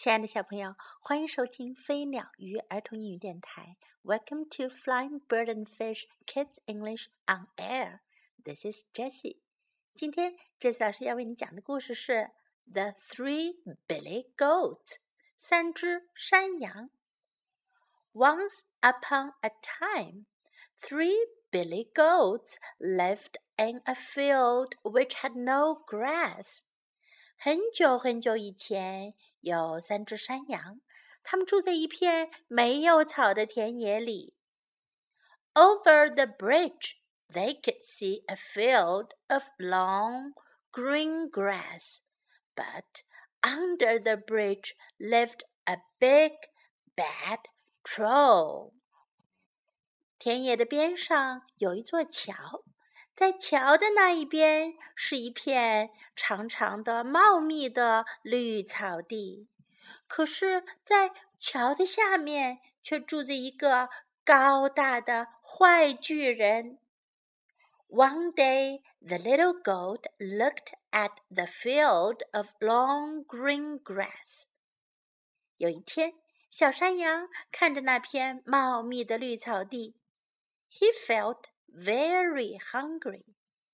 亲爱的小朋友，欢迎收听飞鸟鱼儿童英语电台。Welcome to Flying Bird and Fish Kids English on Air. This is Jessie. 今天 Jessie 老师要为你讲的故事是 The Three Billy Goats 三只山羊。Once upon a time, three billy goats lived in a field which had no grass. 很久很久以前，有三只山羊，它们住在一片没有草的田野里。Over the bridge, they could see a field of long green grass, but under the bridge lived a big, bad troll. 田野的边上有一座桥。在桥的那一边是一片长长的茂密的绿草地，可是在桥的下面却住着一个高大的坏巨人。One day, the little goat looked at the field of long green grass. 有一天，小山羊看着那片茂密的绿草地。He felt very hungry.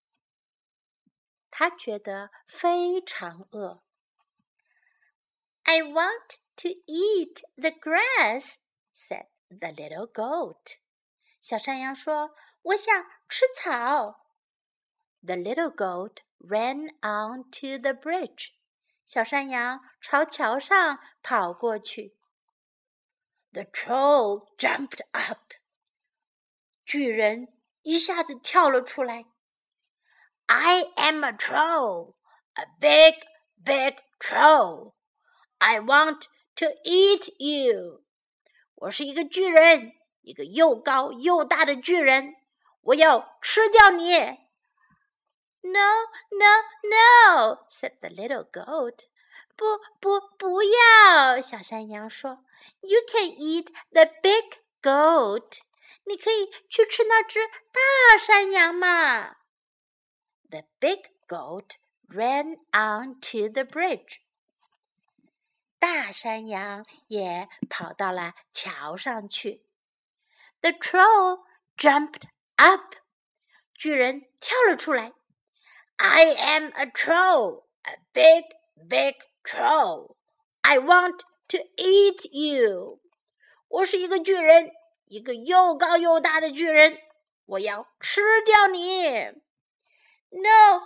他觉得非常饿。I want to eat the grass, said the little goat. 小山羊说，我想吃草。The little goat ran onto the bridge. 小山羊朝桥上跑过去。The troll jumped up. 巨人一下子跳了出来。I am a troll, a big, big troll. I want to eat you. 我是一个巨人，一个又高又大的巨人，我要吃掉你。No, no, no, said the little goat. 不要，小山羊说。You can eat the big goat.你可以去吃那只大山羊嘛。The big goat ran onto the bridge. 大山羊也跑到了桥上去。The troll jumped up. 巨人跳了出来。I am a troll, a big, big troll. I want to eat you. 我是一个巨人。一个又高又大的巨人，我要吃掉你。No,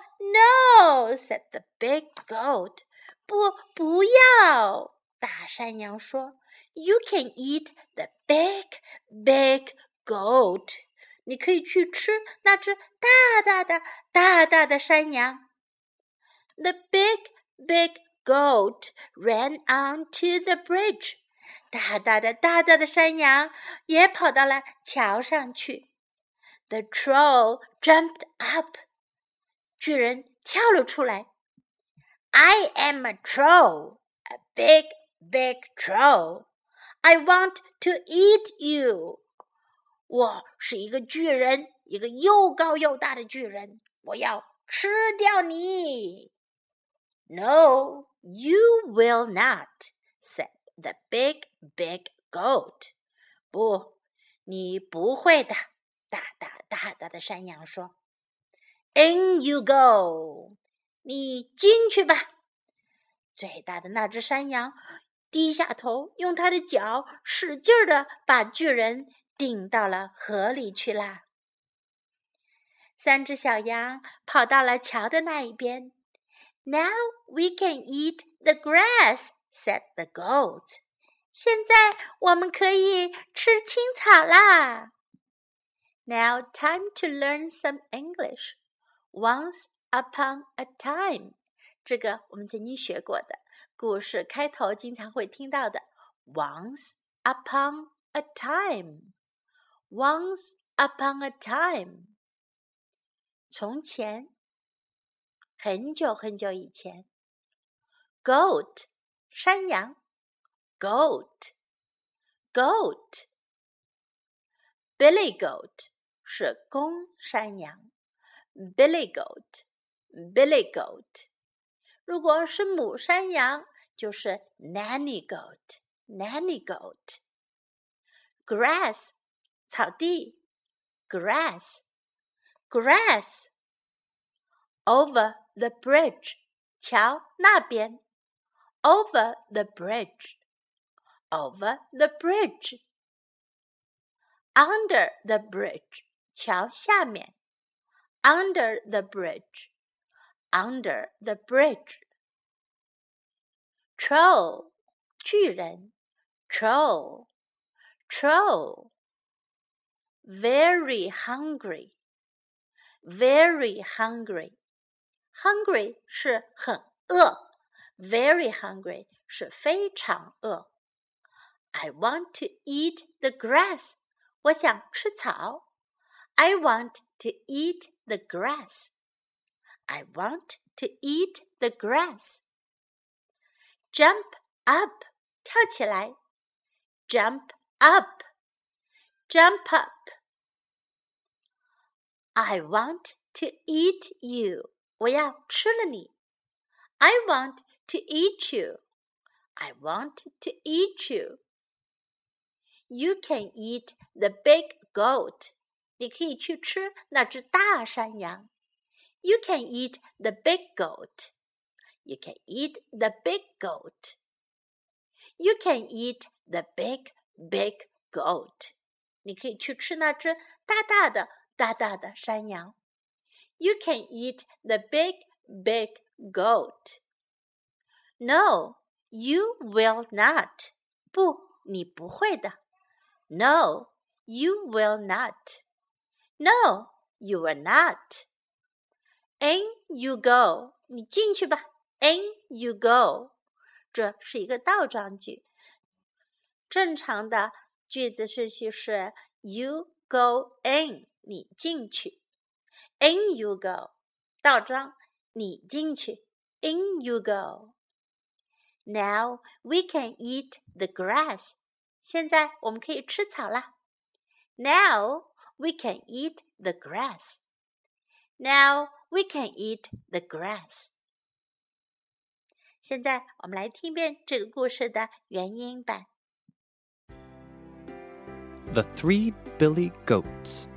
no, said the big goat. 不要，大山羊说。You can eat the big, big goat. 你可以去吃那只大大的山羊。The big, big goat ran onto the bridge.大大的山羊也跑到了桥上去。The troll jumped up. 巨人跳了出来。I am a troll, a big, big troll. I want to eat you. 我是一个巨人，一个又高又大的巨人，我要吃掉你。No, you will not, said the big, big goat. 不，你不会的，大的山羊说。In you go. 你进去吧。最大的那只山羊低下头，用它的脚使劲地把巨人顶到了河里去啦。三只小羊跑到了桥的那一边。Now we can eat the grass, said the goat. 现在我们可以吃青草啦。Now time to learn some English. Once upon a time. 这个我们曾经学过的，故事开头经常会听到的。Once upon a time. Once upon a time. 从前，很久很久以前。Goat, 山羊。Goat, goat. Billy goat 是公山羊。Billy goat, billy goat. 如果是母山羊， 就是 nanny goat, nanny goat. Grass, 草地 grass, grass. Over the bridge, 桥那边 over the bridge, over the bridge. Under the bridge, 桥下面 under the bridge, under the bridge. Troll, 巨人 troll, troll. Very hungry, very hungry. Hungry 是很饿 very hungry 是非常饿 I want to eat the grass. 我想吃草 I want to eat the grass. I want to eat the grass. Jump up, 跳起来 Jump up, jump up. I want to eat you. 我要吃了你 I want to eat you. I want to eat you. You can eat the big goat. 你可以去吃那只大山羊 You can eat the big goat. You can eat the big goat. You can eat the big, big goat. 你可以去吃那只大大的山羊You can eat the big, big goat. No, you will not. 不，你不会的 No, you will not. No, you will not. In you go. 你进去吧 In you go. 这是一个倒装句。正常的句子顺序是 You go in. 你进去In you go. 倒装你进去 In you go. Now we can eat the grass. 现在我们可以吃草啦 Now we can eat the grass. Now we can eat the grass. 现在我们来听一遍这个故事的原音版 The Three Billy Goats.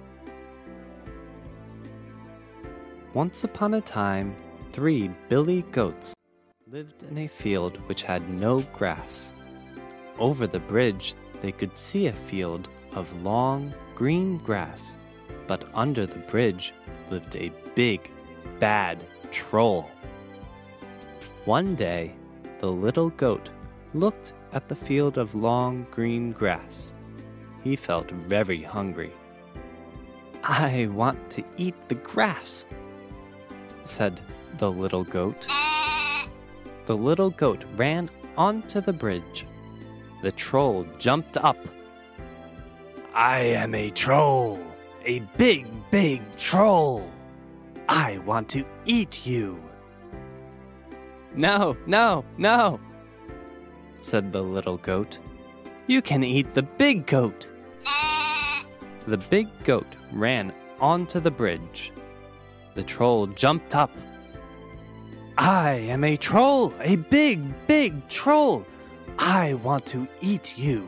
Once upon a time, 3 billy goats lived in a field which had no grass. Over the bridge, they could see a field of long, green grass, but under the bridge lived a big, bad troll. One day, the little goat looked at the field of long, green grass. He felt very hungry. I want to eat the grass, said the little goat. The little goat ran onto the bridge. The troll jumped up. I am a troll, a big, big troll. I want to eat you. No, no, no, said the little goat. You can eat the big goat. The big goat ran onto the bridge. The troll jumped up. I am a troll, a big, big troll. I want to eat you.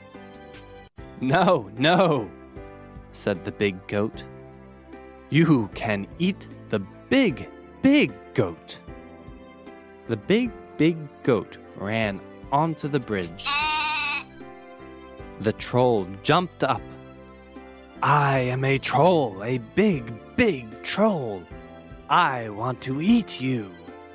No, no, said the big goat. You can eat the big, big goat. The big, big goat ran onto the bridge. The troll jumped up. I am a troll, a big, big troll. I want to eat you.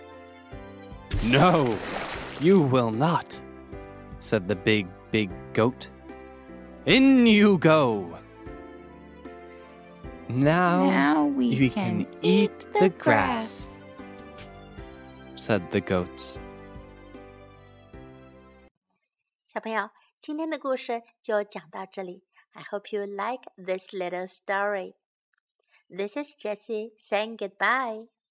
No, you will not, said the big, big goat. In you go. Now we can eat the grass, said the goats. 小朋友，今天的故事就讲到这里。I hope you like this little story. This is Jessie saying goodbye.